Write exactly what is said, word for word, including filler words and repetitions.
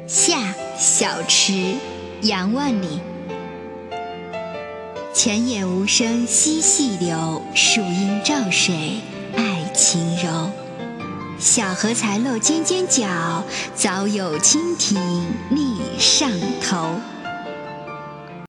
夏小池杨万里。泉眼无声惜细流，树阴照水爱晴柔。小荷才露尖尖角，早有蜻蜓立上头。